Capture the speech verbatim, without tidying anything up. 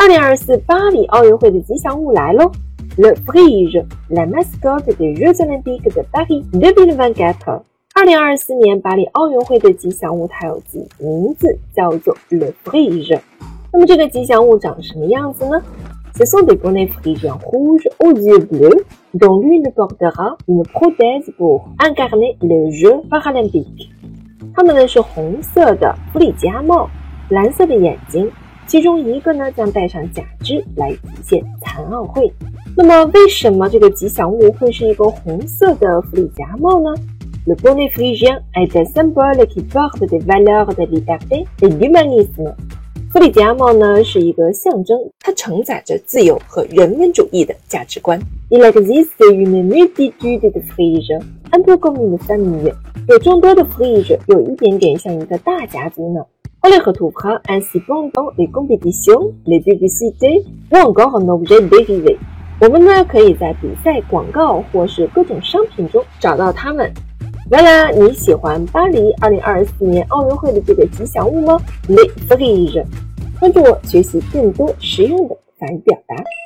二零二四巴黎奥运会的吉祥物来喽 ！Le Frige, la mascotte des Jeux Olympiques de Paris deux mille vingt-quatre。二零二四年巴黎奥运会的吉祥物它有自名字，叫做 Le Frige。那么这个吉祥物长什么样子呢？ Ce sont des bonnets phrygiens rouges aux yeux bleus, dont l'une portera une prothèse pour incarner les Jeux Paralympiques。它们呢是红色的弗里吉亚帽，蓝色的眼睛。 其中一个呢将戴上假肢来体现残奥会。那么为什么这个吉祥物会是一个红色的弗里夹帽呢 ？Le bonnet phrygien est un symbole qui porte des valeurs de liberté et d'humanisme。弗里夹帽呢是一个象征，它承载着自由和人文主义的价值观。Il existe une multitude de friges, un peu comme une famille。有众多的 frige， 有一点点像一个大家族呢。 On les retrouvera ainsi pendant les compétitions, les publicités ou encore en objet dérivé。我们呢可以在比赛、广告或是各种商品中找到它们。原来你喜欢巴黎二零二四年奥运会的这个吉祥物吗 ？Les friges。关注我，学习更多实用的法语表达。